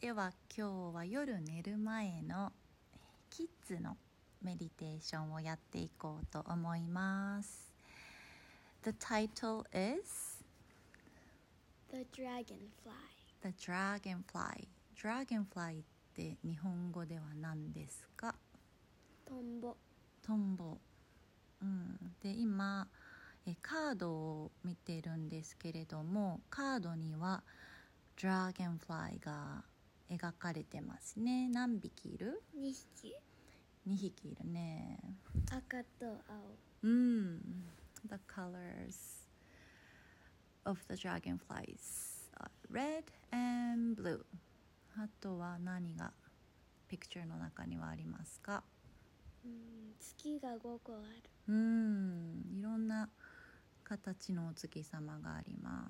では今日は夜寝る前のキッズのメディテーションをやっていこうと思います。The title is The Dragonfly. The Dragonfly. Dragonfly って日本語では何ですか？ トンボ。 トンボ。で今カードを見てるんですけれども、カードには Dragonfly が描かれてますね。何匹いる 2匹。 2匹いるね。 赤と青。 The colors of the dragonflies are red and blue. あとは何がピクチャーの中にはありますか？ 月が5個ある。 いろんな形のお月様があります。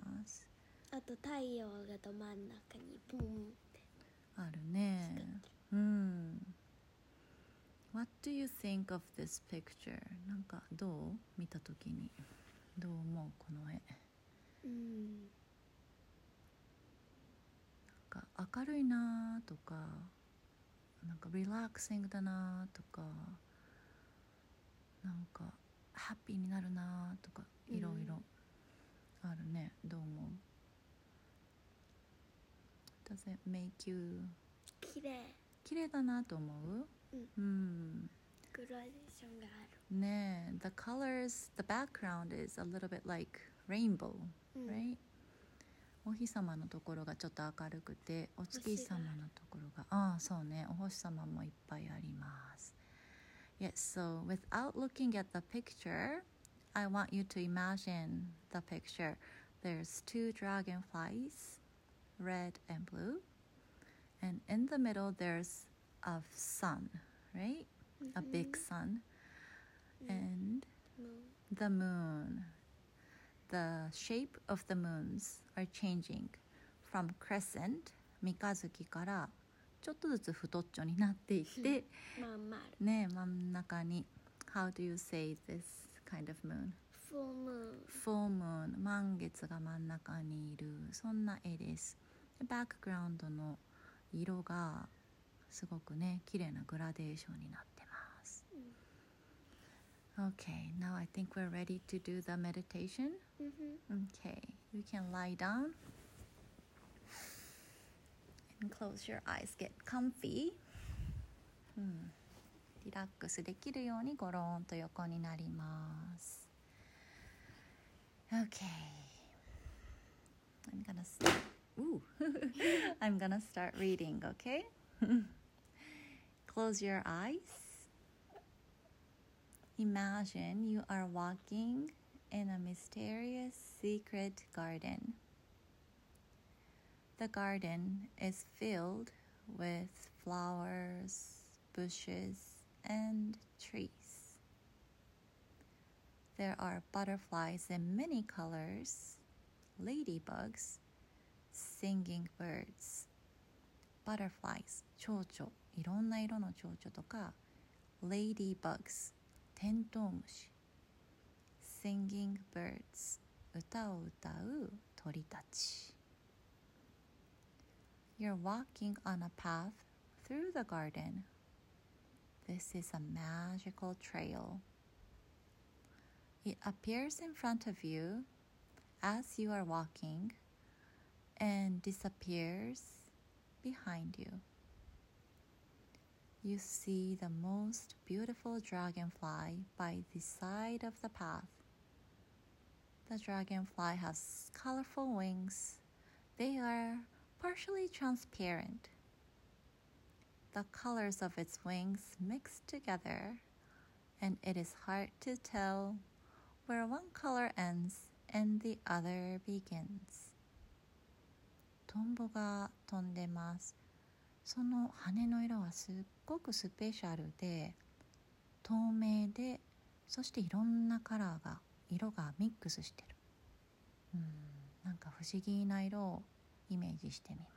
あと太陽がど真ん中にボンってあるね。What do you think of this picture? なんかどう見たときにどう思うこの絵？なんか明るいなとか、なんかリラックシングだなとか、なんかハッピーになるなとか、いろいろあるね。どう思う？ Does it make you 綺麗だなと思う？ グラデーションがあるね。The colors, the background is a little bit like rainbow, right? お日様のところがちょっと明るくて、お月様のところがそうね、お星様もいっぱいあります。Yes, so without looking at the picture, I want you to imagine the picture. There's 2 dragonflies, red and blue, and in the middle there's a sun, right? A big sun, and the moon. The shape of the moons are changing from crescent 三日月からちょっとずつ太っちょになっていってね、真ん中に How do you say this kind of moon? Full moon 満月が真ん中にいる、そんな絵です。バックグラウンドの色がすごくね、綺麗なグラデーションになってます。Okay, now I think we're ready to do the meditation. Okay, you can lie down and close your eyes. Get comfy. リラックスできるようにゴローンと横になります。Okay, I'm gonna I'm gonna start reading, okay? Close your eyes.Imagine you are walking in a mysterious secret garden. The garden is filled with flowers, bushes, and trees. There are butterflies in many colors, ladybugs, singing birds. Butterflies, 蝶々、いろんな色の蝶々とか、ladybugs、テントウムシ Singing birds 歌を歌う鳥たち You're walking on a path through the garden. This is a magical trail. It appears in front of you as you are walking and disappears behind you.You see the most beautiful dragonfly by the side of the path. The dragonfly has colorful wings. They are partially transparent. The colors of its wings mix together, and it is hard to tell where one color ends and the other begins. トンボが飛んでます。その羽の色はすっごくスペシャルで透明で、そしていろんなカラーが色がミックスしてる。なんか不思議な色をイメージしてみます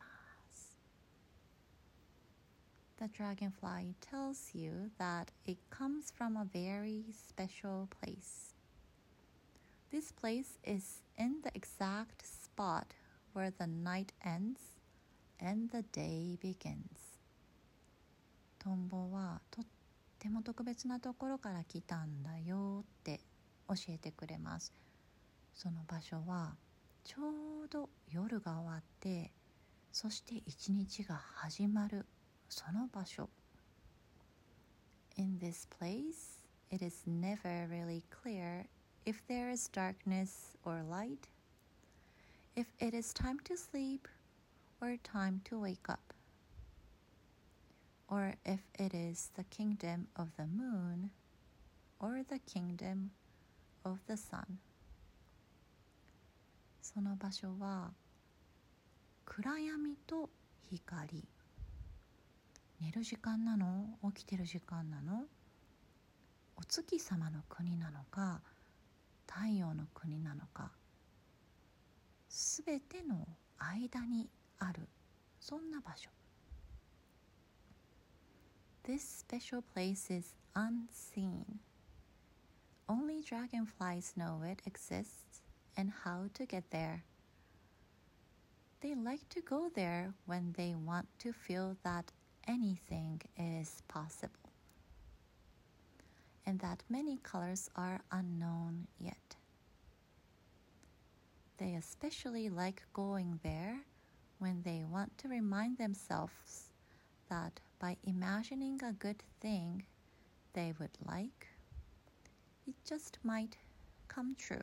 。The dragonfly tells you that it comes from a very special place. This place is in the exact spot where the night ends and the day begins. トンボはとっても特別なところから来たんだよって教えてくれます。その場所はちょうど夜が終わって、そして一日が始まるその場所。In this place, it is never really clear if there is darkness or light, if it is time to sleep or time to wake up, or if it is the kingdom of the moon or the kingdom of the sun. その場所は暗闇と光。寝る時間なの？起きてる時間なの？お月様の国なのか、太陽の国なのか、すべての間にある、そんな場所。This special place is unseen. Only dragonflies know it exists and how to get there. They like to go there when they want to feel that anything is possible, and that many colors are unknown yet. They especially like going there when they want to remind themselves that by imagining a good thing they would like, it just might come true.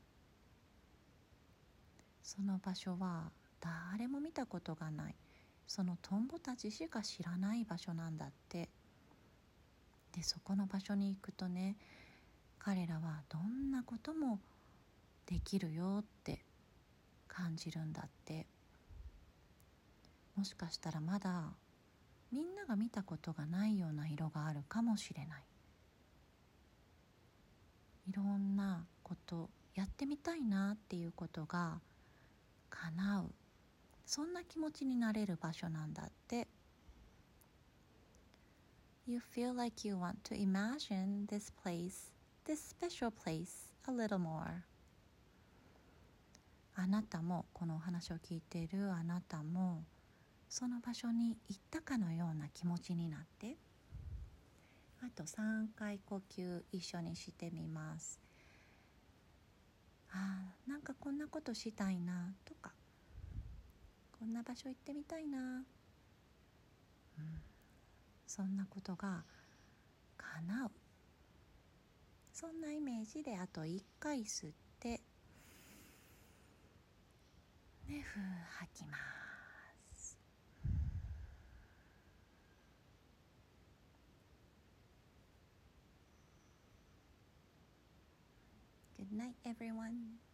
その場所は誰も見たことがない、そのトンボたちしか知らない場所なんだって。で、そこの場所に行くとね、彼らはどんなこともできるよって感じるんだって。もしかしたらまだみんなが見たことがないような色があるかもしれない。いろんなことやってみたいなっていうことが叶う、そんな気持ちになれる場所なんだって。You feel like you want to imagine this place, this special place, a little more. あなたも、このお話を聞いているあなたも、その場所に行ったかのような気持ちになって、あと3回呼吸一緒にしてみます。なんかこんなことしたいなとか、こんな場所行ってみたいな、そんなことが叶う、そんなイメージであと1回吸って、ふー吐きます。Good night, everyone.